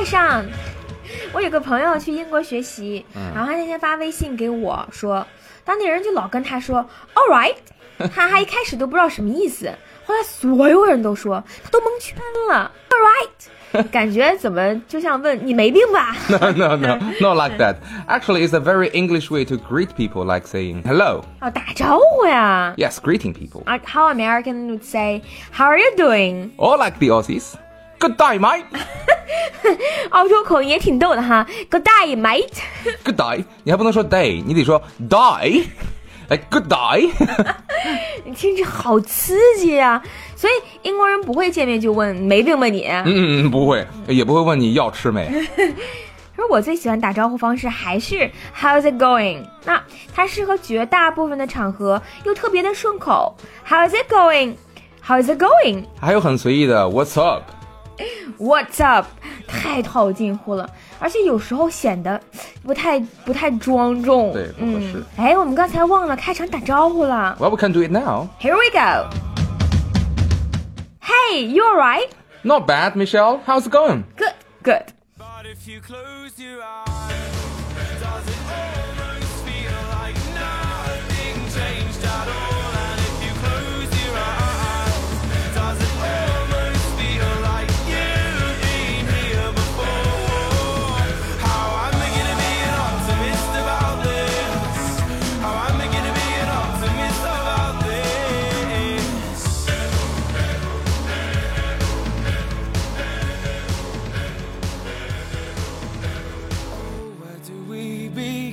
带上。我有个朋友去英国学习，然后他那天发微信给我说，当地人就老跟他说 all right， 他还一开始都不知道什么意思，后来所有人都说，他都蒙圈了 all right， 感觉怎么就像问你没病吧 No, not like that. Actually, it's a very English way to greet people, like saying hello. 打招呼呀。 Yes, greeting people. How American would say, how are you doing? Or like the Aussies. Good day, mate. 澳洲口音也挺逗的哈 Good day, mate. Good day. 你还不能说 day， 你得说 die. Like good day. 你听着好刺激啊，所以英国人不会见面就问没病吧你。 不会，也不会问你要吃没。 而我最喜欢打招呼方式还是 How's it going？ 那它适合绝大部分的场合，又特别的顺口。How's it going？ How's it going？ 还有很随意的 What's up？ What's up？ 太套近乎了，而且有时候显得不太庄重。 对，不合适。 我们刚才忘了开场打招呼了。 Well, we can do it now. Here we go. Hey, you alright? Not bad, Michelle. How's it going? Good. But if you close your eyes, does it almost feel like nothing changed at all? And if you close your eyes, does it almost feel like you've been here before? How am I gonna be an optimist about this? How am I gonna be an optimist about this? Where do we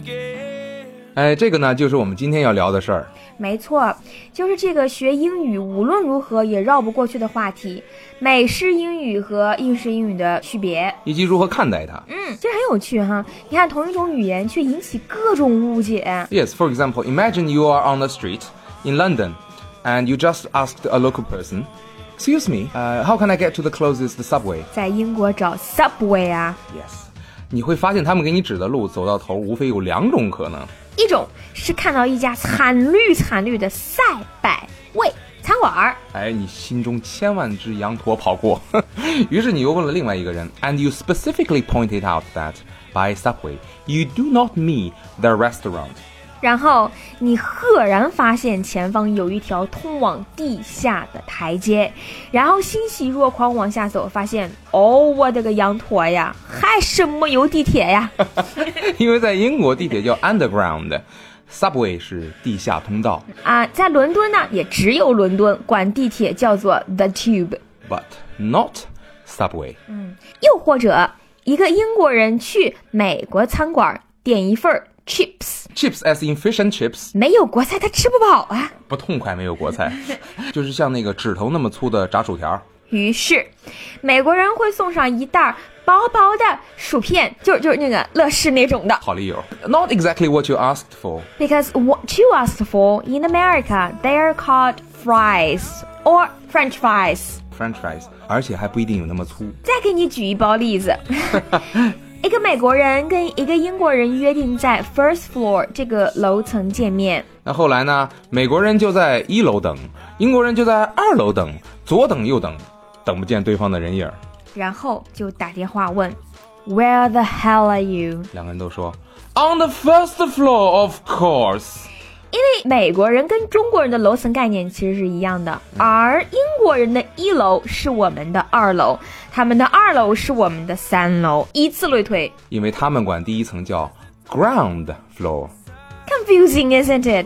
begin? 这个呢，就是我们今天要聊的事儿。 没错，就是这个学英语无论如何也绕不过去的话题，美式英语和英式英语的区别， 以及如何看待它。 其实很有趣哈。你看同一种语言却引起各种误解。 Yes, for example, imagine you are on the street in London and you just asked a local person, Excuse me, how can I get to the closest subway? 在英国找 subway 啊， Yes. 你会发现他们给你指的路走到头无非有两种可能。 一种是看到一家惨绿的赛百味餐馆， 你心中千万只羊驼跑过。于是你又问了另外一个人 and you specifically pointed out that by subway, you do not mean the restaurant. 然后你赫然发现前方有一条通往地下的台阶，然后欣喜若狂往下走，发现我的个羊驼呀，还什么有地铁呀？ 因为在英国地铁叫 underground， subway 是地下通道啊，在伦敦呢，也只有伦敦管地铁叫做 the tube， but not subway。 又或者一个英国人去美国餐馆点一份Chips as in fish and chips， 没有国菜他吃不饱啊， 不痛快没有国菜，就是像那个指头那么粗的炸薯条。 于是美国人会送上一袋薄薄的薯片，就是那个乐事那种的。 好理由 Not exactly what you asked for. Because what you asked for in America, they are called fries or French fries. French fries， 而且还不一定有那么粗。 再给你举一包例子。一个美国人跟一个英国人约定在 first floor 这个楼层见面。 那后来呢，美国人就在1楼等，英国人就在2楼等，左等右等，等不见对方的人影。 然后就打电话问 Where the hell are you？ 两个人都说 On the first floor, of course。 因为美国人跟中国人的楼层概念其实是一样的，而英国人的1楼是我们的2楼，他们的2楼是我们的3楼，以此类推。 因为他们管第一层叫 ground floor。 Confusing, isn't it?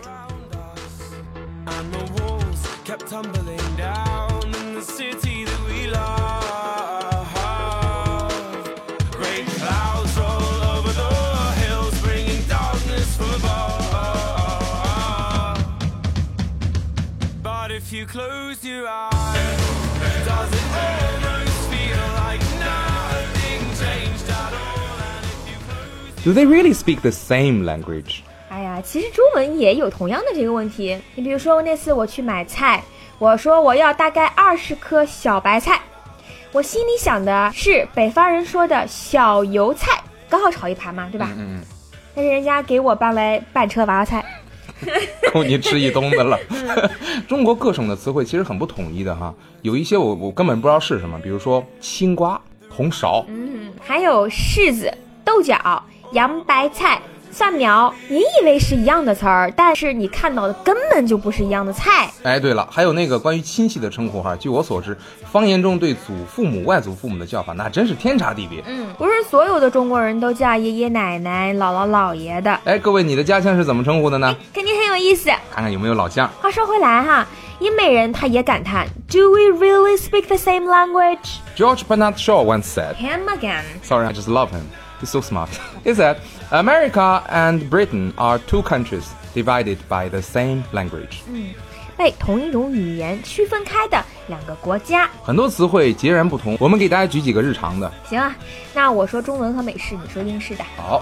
And the walls kept tumbling down in the city that we love. Great clouds roll over the hills, bringing darkness from above. But if you close your eyes, does it almost feel like nothing changed at all? And if you close Do they really speak the same language? 哎呀，其实中文也有同样的这个问题。你比如说那次我去买菜，我说我要大概20颗小白菜，我心里想的是北方人说的小油菜，刚好炒一盘嘛，对吧？但是人家给我搬来半车娃娃菜。 够你吃一冬的了。中国各省的词汇其实很不统一的哈，有一些我根本不知道是什么，比如说青瓜、红苕， 还有柿子、豆角、洋白菜、蒜苗，你以为是一样的词儿，但是你看到的根本就不是一样的菜。 哎，对了，还有那个关于亲戚的称呼哈，据我所知，方言中对祖父母、外祖父母的叫法那真是天差地别。 不是所有的中国人都叫爷爷奶奶、姥姥姥爷的。 哎，各位，你的家乡是怎么称呼的呢？ 肯定很有意思。 看看有没有老乡。 话说回来哈，英美人他也感叹 Do we really speak the same language? George Bernard Shaw once said, Him again. sorry, I just love him. He's so smart. He said, America and Britain are two countries divided by the same language. 被同一种语言区分开的两个国家。 很多词汇截然不同，我们给大家举几个日常的。 行啊，那我说中文和美式，你说英式的。 好，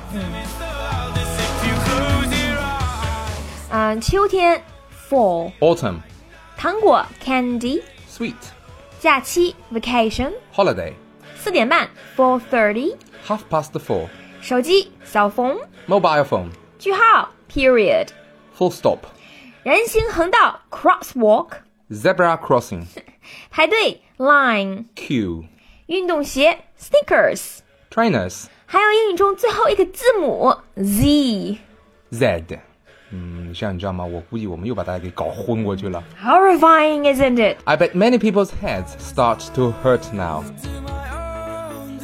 秋天 fall， Autumn, 糖果 candy， sweet, 假期 vacation， holiday, 4点半 4:30， half past 4, 手机 cell phone， mobile phone, 句号 period， full stop, 人行横道 crosswalk， zebra crossing, 排队 line， queue, 运动鞋 sneakers， trainers, 还有英语中最后一个字母 Z。 Z. 这样你知道吗？我估计我们又把大家给搞昏过去了。 Horrifying, isn't it? I bet many people's heads start to hurt now. To my own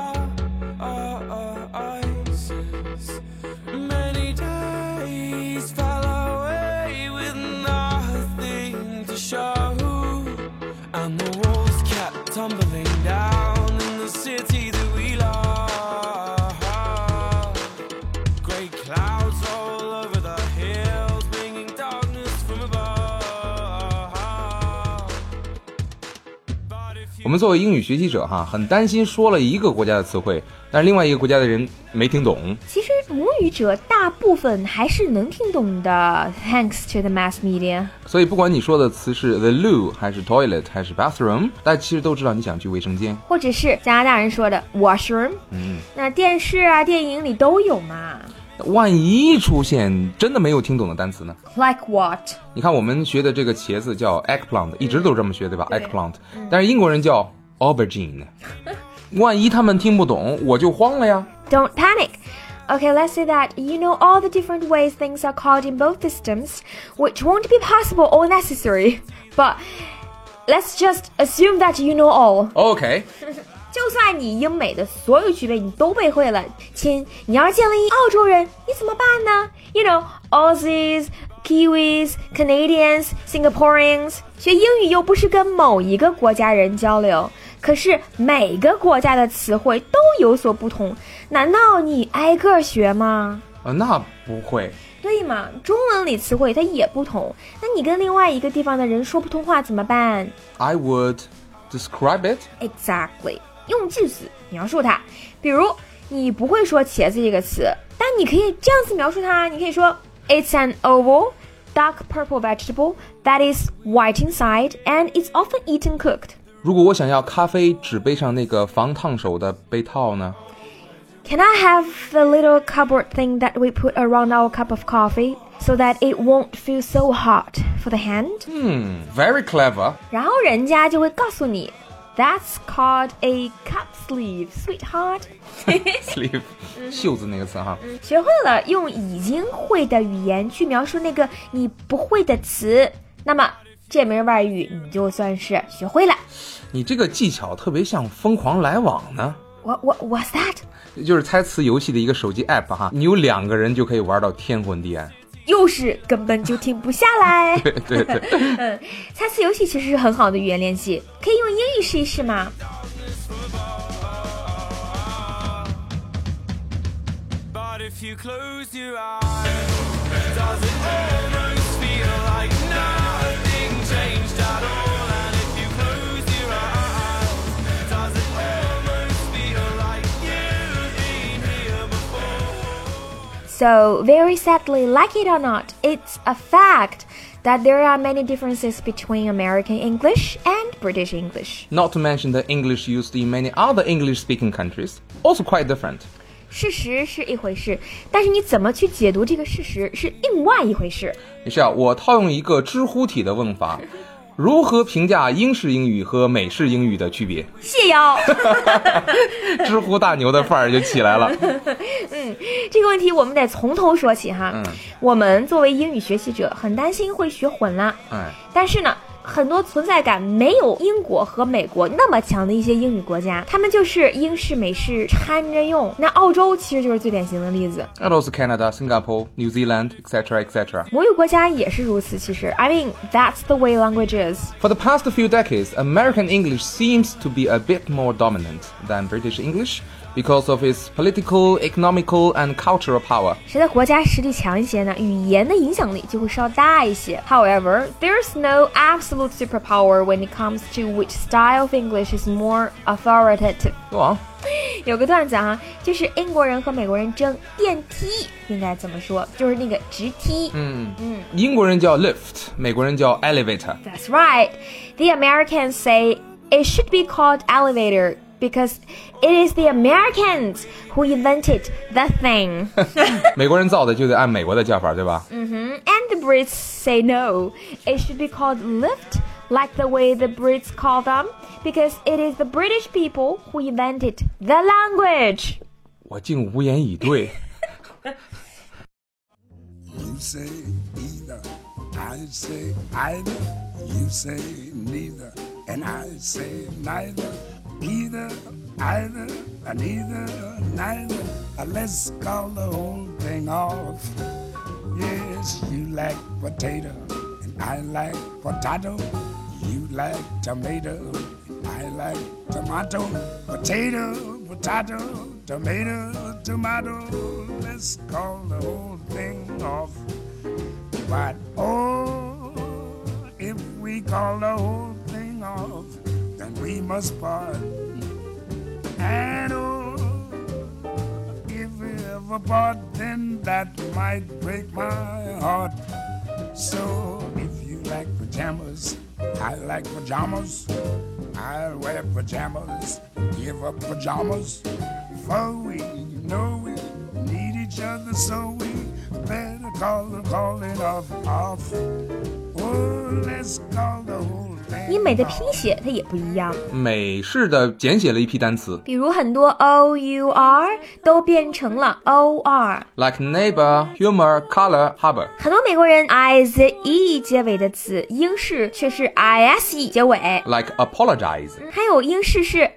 devices, many days fell away with nothing to show, and the walls kept tumbling down in the city that we love. Grey clouds all over the hills, bringing darkness from above. But if you 我们作为英语学习者哈，很担心说了一个国家的词汇，但是另外一个国家的人没听懂。 其实母语者大部分还是能听懂的 ，thanks to the mass media。 所以不管你说的词是 the loo 还是 toilet 还是 bathroom， 大家其实都知道你想去卫生间。 或者是加拿大人说的 washroom，那电视啊、电影里都有嘛。 万一出现真的没有听懂的单词呢？ Like what？ 你看我们学的这个茄子叫 eggplant， 一直都这么学对吧？ 对 eggplant， 但是英国人叫 aubergine。万一他们听不懂，我就慌了呀。 Don't panic. Okay, let's say that you know all the different ways things are called in both systems, which won't be possible or necessary. But let's just assume that you know all. OK， 就算你英美的所有区别你都背会了，亲，你要是见了一澳洲人，你怎么办呢？ You know, Aussies, Kiwis, Canadians, Singaporeans. 学英语又不是跟某一个国家人交流，可是每个国家的词汇都有所不同，难道你挨个学吗？ 那不会。 对嘛，中文里词汇它也不同，那你跟另外一个地方的人说不通话怎么办？ I would describe it. Exactly， 用句子描述它。比如你不会说茄子这个词，但你可以这样子描述它，你可以说 It's an oval, dark purple vegetable that is white inside and it's often eaten cooked. 如果我想要咖啡纸杯上那个防烫手的杯套呢？ Can I have the little cupboard thing that we put around our cup of coffee so that it won't feel so hot for the hand? Very clever. 然后人家就会告诉你 That's called a cup sleeve, sweetheart. Sleeve， 袖子那个词哈。 学会了用已经会的语言去描述那个你不会的词，那么这门外语你就算是学会了。 你这个技巧特别像疯狂来往呢。 What's that？ 就是猜词游戏的一个手机 app 哈，你有2个人就可以玩到天昏地暗。 又是根本就停不下来。 对对对。 猜词游戏其实是很好的语言练习，可以用英语试一试吗？ But if you close your eyes, does it almost feel like nothing changed at all? And if you close your eyes, does it almost feel like you've been here before? So, very sadly, like it or not, it's a fact that there are many differences between American English and British English. Not to mention the English used in many other English-speaking countries, also quite different. 事实是一回事，但是你怎么去解读这个事实是另外一回事。 Michelle，我套用一个知乎体的问法， 如何评价英式英语和美式英语的区别？ 谢邀。 知乎大牛的范儿就起来了。 这个问题我们得从头说起哈。我们作为英语学习者，很担心会学混了。但是呢，很多存在感没有英国和美国那么强的一些英语国家，他们就是英式美式掺着用。那澳洲其实就是最典型的例子。 And also Canada, Singapore, New Zealand, etc., etc. 母语国家也是如此。其实 I mean, that's the way language is. For the past few decades, American English seems to be a bit more dominant than British English because of its political, economical, and cultural power. 谁的国家实力强一些呢，语言的影响力就会稍大一些。However, there's no absolute superpower when it comes to which style of English is more authoritative. Go on. 有个段子啊，就是英国人和美国人争电梯应该怎么说，就是那个直梯。 英国人叫 lift， 美国人叫 elevator。 That's right. The Americans say it should be called elevator because it is the Americans who invented the thing. 美国人造的就得按美国的叫法，对吧 And the Brits say no. It should be called lift, like the way the Brits call them, because it is the British people who invented the language. 我竟无言以对。 You say either, I say either. You say neither, and I say neither. Either, either, neither, neither. Let's call the whole thing off. Yes, you like potato, and I like potato. You like tomato, and I like tomato. Potato, potato, tomato, tomato. Let's call the whole thing off. But oh, if we call the whole thing off, then we must part. And oh, if we ever part, then that might break my heart. So if you like pajamas, I like pajamas. I'll wear pajamas, give up pajamas. For we know we need each other, so we better call it off. Oh, let's call the whole thing. 英美的拼写它也不一样， 美式的简写了一批单词比如很多 our 都变成了 or。 ，like neighbor, humor, color, harbor。 很多美国人 ize 结尾的词，英式却是 ise 结尾。 like apologize。 还有英式是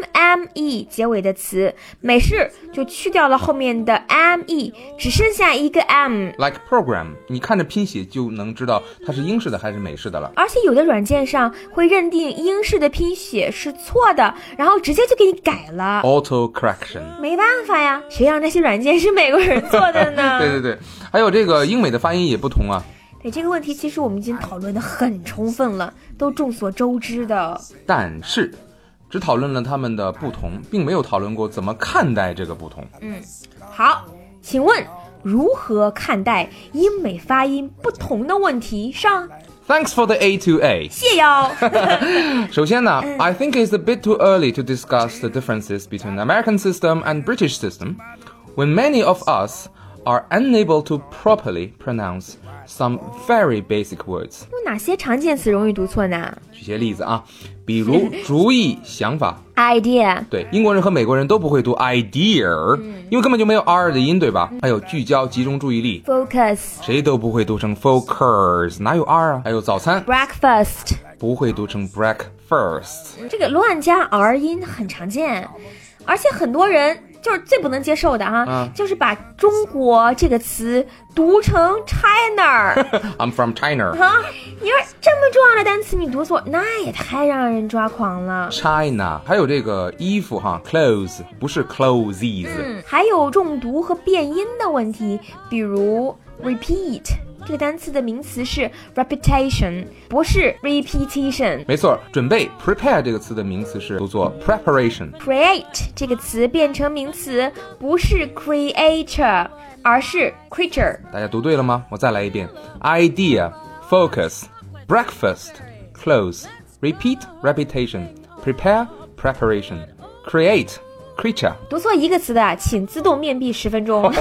mme 结尾的词，美式就去掉了后面的 me， 只剩下一个 m。 like program， 你看着拼写就能知道它是英式的还是美式的了。 而且有的软件上会认定英式的拼写是错的，然后直接就给你改了。 auto correction。 没办法呀，谁让那些软件是美国人做的呢？ 对对对，还有这个英美的发音也不同啊。 对，这个问题其实我们已经讨论得很充分了，都众所周知的。 但是只讨论了它们的不同，并没有讨论过怎么看待这个不同。 好，请问如何看待英美发音不同的问题上？ Thanks for the A2A。 谢邀。 首先呢，I think it's a bit too early to discuss the differences between American system and British system when many of us are unable to properly pronounce some very basic words。 有哪些常见词容易读错呢？ 举些例子啊，比如主意、想法。 idea。 对，英国人和美国人都不会读 idea，因为根本就没有 r 的音，对吧？还有聚焦、集中注意力， focus。 谁都不会读成 focus， 哪有 r 啊？还有早餐， breakfast。 不会读成 breakfast。 这个乱加 r 音很常见，而且很多人就是最不能接受的就是把中国这个词读成 China。 I'm from China。 你说这么重要的单词你读错，那也太让人抓狂了。 China， 还有这个衣服clothes 不是 clothes。 还有重读和变音的问题，比如 repeat 这个单词的名词是 reputation， 不是 repetition。 没错，准备 prepare 这个词的名词是读作 preparation。 create 这个词变成名词不是 creator， 而是 creature。 大家读对了吗？我再来一遍 idea, focus, breakfast, clothes, repeat, reputation, prepare, preparation, create, creature。 读错一个词的，请自动面壁10分钟。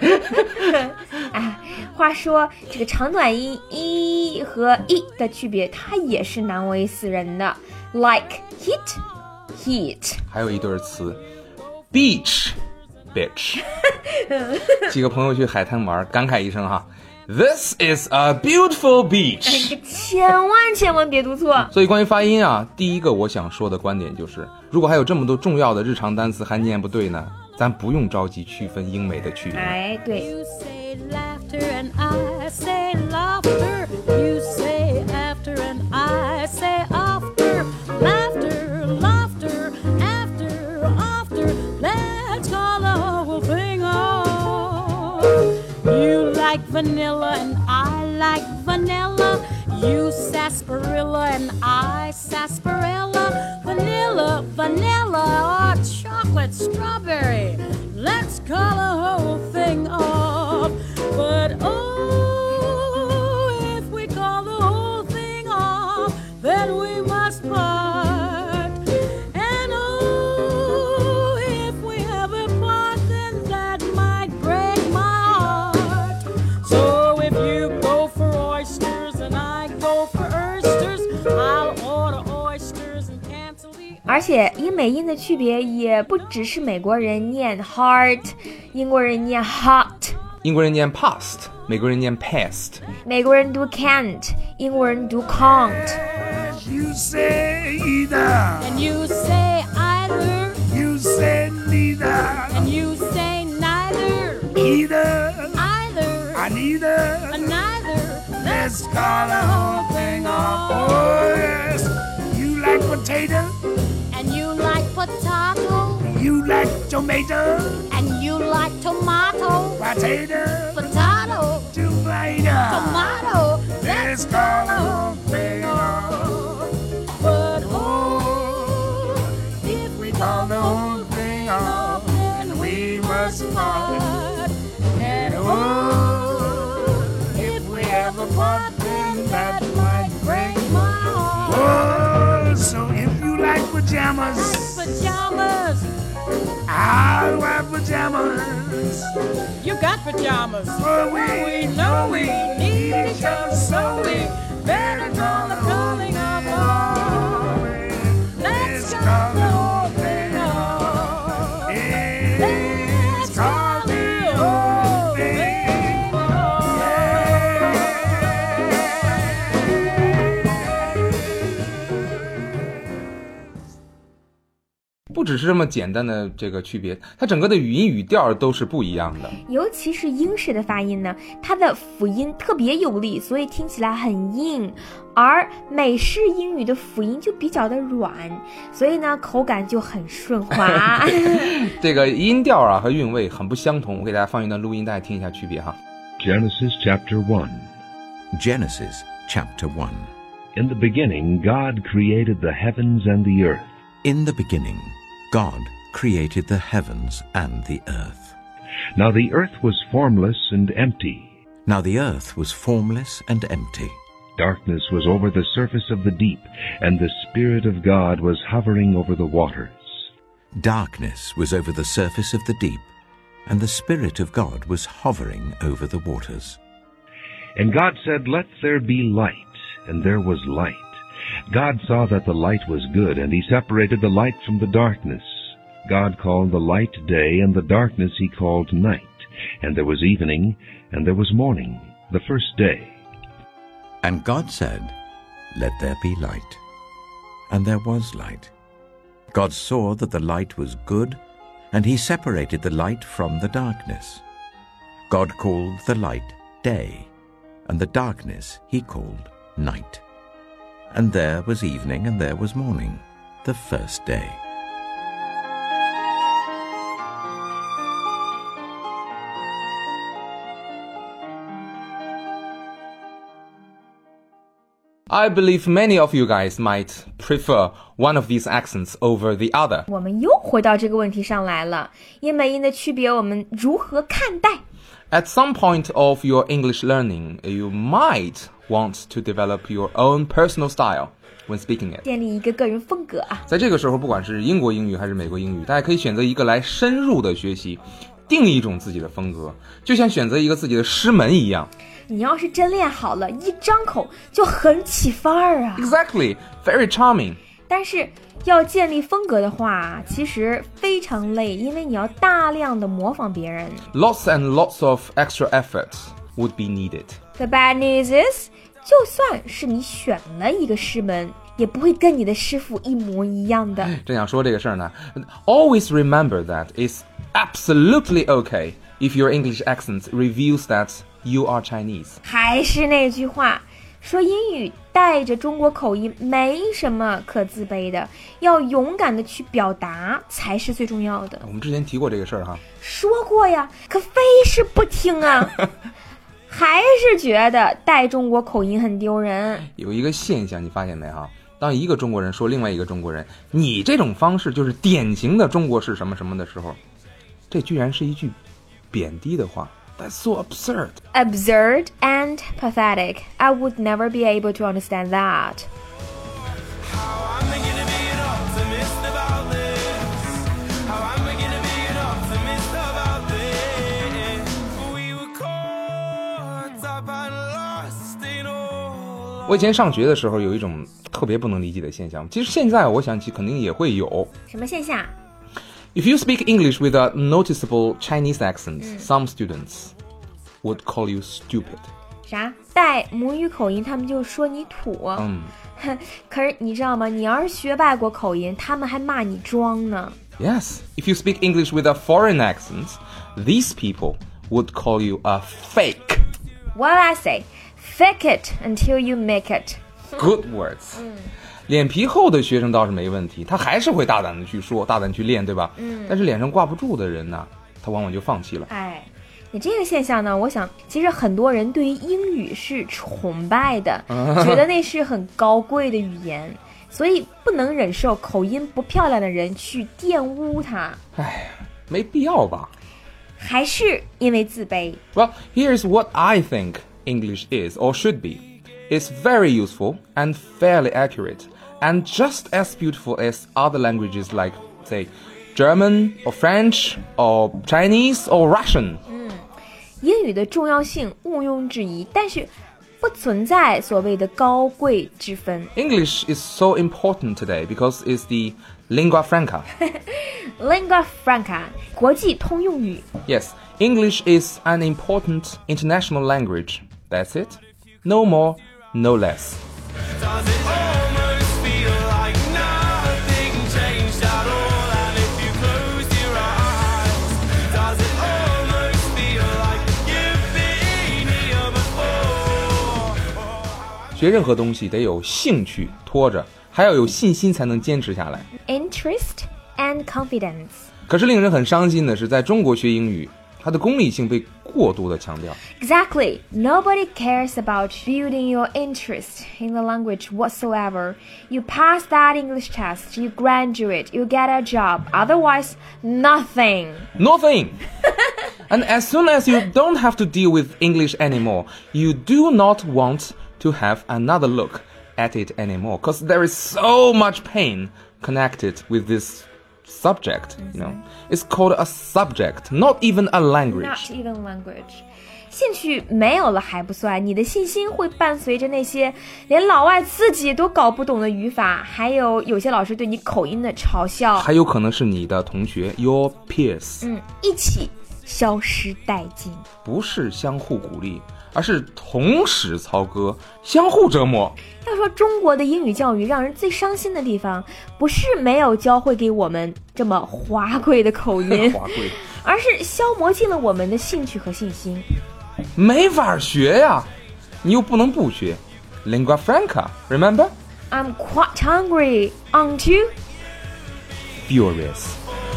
哎，话说这个长短音 e 和 e 的区别，它也是难为死人的。Like heat。 还有一对词 ，beach bitch。几个朋友去海滩玩，感慨一声哈。This is a beautiful beach。 千万别读错。 所以关于发音啊，第一个我想说的观点就是，如果还有这么多重要的日常单词还念不对呢，咱不用着急区分英美的区别。 哎，对。 You say laughter and I say laughter. You say after and I say after. Laughter, laughter, after. Let's call the whole thing off. You like vanilla and I like vanilla. You sarsaparilla and I sarsaparilla. Vanilla, vanilla, or chocolate strawberry. Let's call the whole thing off. But oh, if we call the whole thing off, then we must part. And oh, if we ever part, then that might break my heart. So if you go for oysters and I go for oysters, I'll order oysters and cancel the... 而且英美音的区别也不只是美国人念 heart， 英国人念 hot， 英国人念 past， 美国人念 past， 美国人读 can't， 英国人读 can't。 You say either, And you say either, you say neither, and you say neither, either, either, neither. neither. Let's call the whole thing off. Oh yes, you like potato, And you like potato, you like tomato, and you like tomato, potato, potato, tomato. tomato. Let's call the whole thing off. But Oh, if we call the whole thing off, then we must part. And oh, if we ever part, then that might break my heart. Oh, so if you like pajamas, pajamas, I'll wear pajamas. you got pajamas. For we know we need each other, so we better call the calling of all. Let's call the whole thing off. Let's call the whole thing off. Yeah. 不只是这么简单的这个区别，它整个的语音语调都是不一样的。 尤其是英式的发音呢，它的辅音特别有力，所以听起来很硬，而美式英语的辅音就比较的软，所以呢口感就很顺滑。 这个音调啊和韵味很不相同，我给大家放一段录音，大家听一下区别哈。 Genesis chapter 1. Genesis chapter 1. In the beginning, God created the heavens and the earth. In the beginning, God created the heavens and the earth. Now the earth was formless and empty. Now the earth was formless and empty. Darkness was over the surface of the deep, and the Spirit of God was hovering over the waters. Darkness was over the surface of the deep, and the Spirit of God was hovering over the waters. And God said, Let there be light, and there was light. God saw that the light was good, and he separated the light from the darkness. God called the light day, and the darkness he called night. And there was evening, and there was morning, the first day. And God said, Let there be light. And there was light. God saw that the light was good, and he separated the light from the darkness. God called the light day, and the darkness he called night. And there was evening, and there was morning, the first day. I believe many of you guys might prefer one of these accents over the other. 我们又回到这个问题上来了，英美音的区别我们如何看待？ At some point of your English learning, you might want to develop your own personal style when speaking it. 建立一个个人风格啊。 在这个时候，不管是英国英语还是美国英语，大家可以选择一个来深入的学习，定一种自己的风格，就像选择一个自己的师门一样。 你要是真练好了，一张口就很起范儿啊。 Exactly, very charming. 但是要建立风格的话，其实非常累，因为你要大量的模仿别人。 Lots and lots of extra effort would be needed. The bad news is， 就算是你选了一个师门，也不会跟你的师傅一模一样的。 正想说这个事儿呢 ，always remember that it's absolutely okay if your English accent reveals that you are Chinese. 还是那句话，说英语带着中国口音没什么可自卑的，要勇敢的去表达才是最重要的。 我们之前提过这个事儿哈。 说过呀，可非是不听啊。还是觉得带中国口音很丢人。 有一个现象你发现没哈？当一个中国人说另外一个中国人，你这种方式就是典型的中国式什么什么的时候，这居然是一句贬低的话。That's so absurd. Absurd and pathetic. I would never be able to understand that. How am I gonna be an optimist about this? How am I gonna be an optimist about this? We were caught up and lost in all. 我以前上学的时候有一种特别不能理解的现象，其实现在我想起肯定也会有。 什么现象？ If you speak English with a noticeable Chinese accent, some students would call you stupid. 啥？带母语口音，他们就说你土。可是你知道吗？你要是学外国口音，他们还骂你装呢。 Yes, if you speak English with a foreign accent, these people would call you a fake. What I say? Fake it until you make it. Good words. 脸皮厚的学生倒是没问题，他还是会大胆的去说，大胆去练，对吧？但是脸上挂不住的人呢，他往往就放弃了。 哎，你这个现象呢，我想其实很多人对于英语是崇拜的，觉得那是很高贵的语言，所以不能忍受口音不漂亮的人去玷污它。 哎呀，没必要吧？ 还是因为自卑。 Well, here's what I think English is or should be. It's very useful and fairly accurate, and just as beautiful as other languages like, say, German or French or Chinese or Russian. 英语的重要性毋庸置疑，但是不存在所谓的高贵之分。 English is so important today because it's the lingua franca. Lingua franca 国际通用语。 Yes, English is an important international language. That's it. No more, no less. Does it almost feel like nothing changed at all? And if you close your eyes, does it almost feel like you've been here before? 学任何东西得有兴趣拖着，还要有信心才能坚持下来。 Interest and confidence. 可是令人很伤心的是，在中国学英语，它的功利性被过度的强调。 Exactly. Nobody cares about building your interest in the language whatsoever. You pass that English test, you graduate, you get a job. Otherwise, nothing. Nothing. And as soon as you don't have to deal with English anymore, you do not want to have another look at it anymore, because there is so much pain connected with this subject, you know. It's called a subject, not even a language. Not even language. 兴趣没有了还不算，你的信心会伴随着那些连老外自己都搞不懂的语法，还有些老师对你口音的嘲笑， 还有可能是你的同学 your peers. 一起消失殆尽。 不是相互鼓励，而是同时操戈，相互折磨。 要说中国的英语教育让人最伤心的地方，不是没有教会给我们这么华贵的口音， 华贵， 而是消磨尽了我们的兴趣和信心。 没法学呀，你又不能不学。Lingua franca, remember? I'm quite hungry, aren't you? Furious.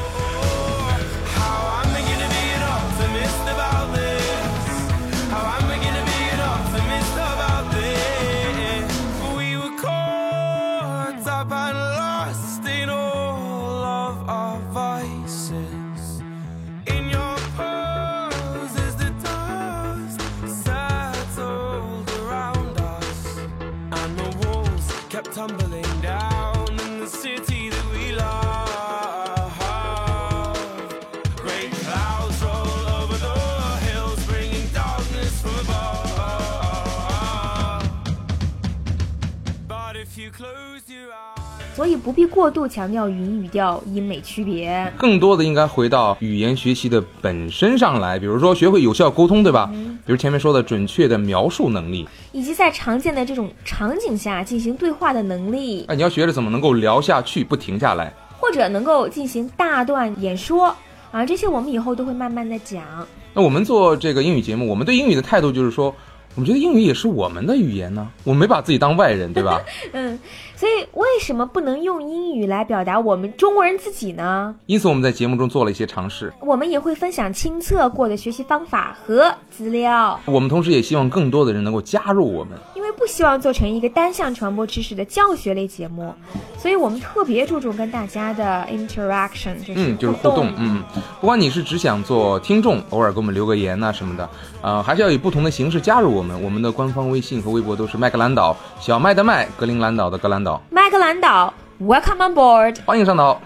How am I gonna be an optimist about this? How am I gonna be an optimist about this? We were caught up and lost in all of our vices. In your pose as the dust settled around us. 所以不必过度强调语音语调英美区别。 更多的应该回到语言学习的本身上来，比如说学会有效沟通，对吧？比如前面说的准确的描述能力， 以及在常见的这种场景下进行对话的能力， 你要学着怎么能够聊下去不停下来， 或者能够进行大段演说啊，这些我们以后都会慢慢的讲。 那我们做这个英语节目，我们对英语的态度就是说，我们觉得英语也是我们的语言呢，我们没把自己当外人，对吧？ 所以为什么不能用英语来表达我们中国人自己呢？ 因此我们在节目中做了一些尝试， 我们也会分享亲测过的学习方法和资料。 我们同时也希望更多的人能够加入我们， 因为不希望做成一个单向传播知识的教学类节目，所以我们特别注重跟大家的 interaction， 就是互动。不管你是只想做听众，偶尔给我们留个言啊什么的，还是要以不同的形式加入我们。我们的官方微信和微博都是麦克兰岛，小麦的麦，格陵兰岛的格兰岛。 麦克兰岛 ，Welcome on board， 欢迎上岛。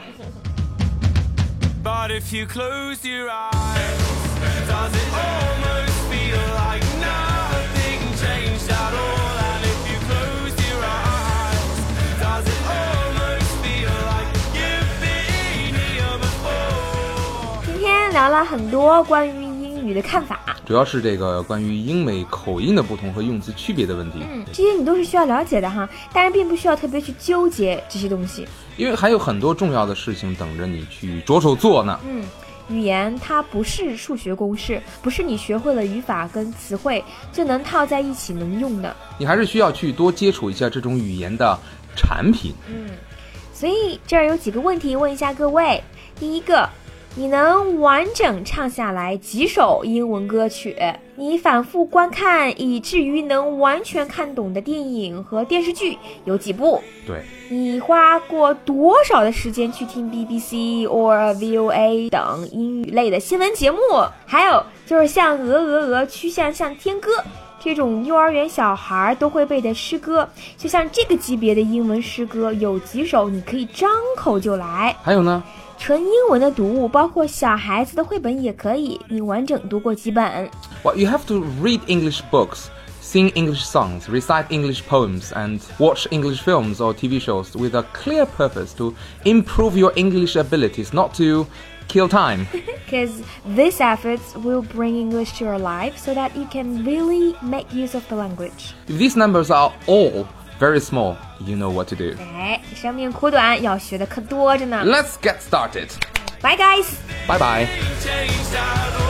But if you close your eyes, does it almost feel like nothing changed at all? And if you close your eyes, does it almost feel like you've been here before? 今天聊了很多关于英语的看法， 主要是这个关于英美口音的不同和用词区别的问题。 这些你都是需要了解的哈，但是并不需要特别去纠结这些东西， 因为还有很多重要的事情等着你去着手做呢。 语言它不是数学公式，不是你学会了语法跟词汇就能套在一起能用的， 你还是需要去多接触一下这种语言的产品。 所以这儿有几个问题问一下各位。第一个，你能完整唱下来几首英文歌曲？你反复观看以至于能完全看懂的电影和电视剧有几部？ 对， 你花过多少的时间去听 BBC or VOA 等英语类的新闻节目？还有就是像鹅曲项向天歌这种幼儿园小孩都会背的诗歌，就像这个级别的英文诗歌有几首你可以张口就来？ 还有呢， 纯英文的读物，包括小孩子的绘本也可以，你完整读过几本？ Well, you have to read English books, sing English songs, recite English poems, and watch English films or TV shows with a clear purpose to improve your English abilities, not to kill time. Because these efforts will bring English to your life so that you can really make use of the language. If these numbers are all very small, you know what to do. 生命苦短，要学的可多着呢。 Let's get started. Bye guys! Bye bye. Changed at all.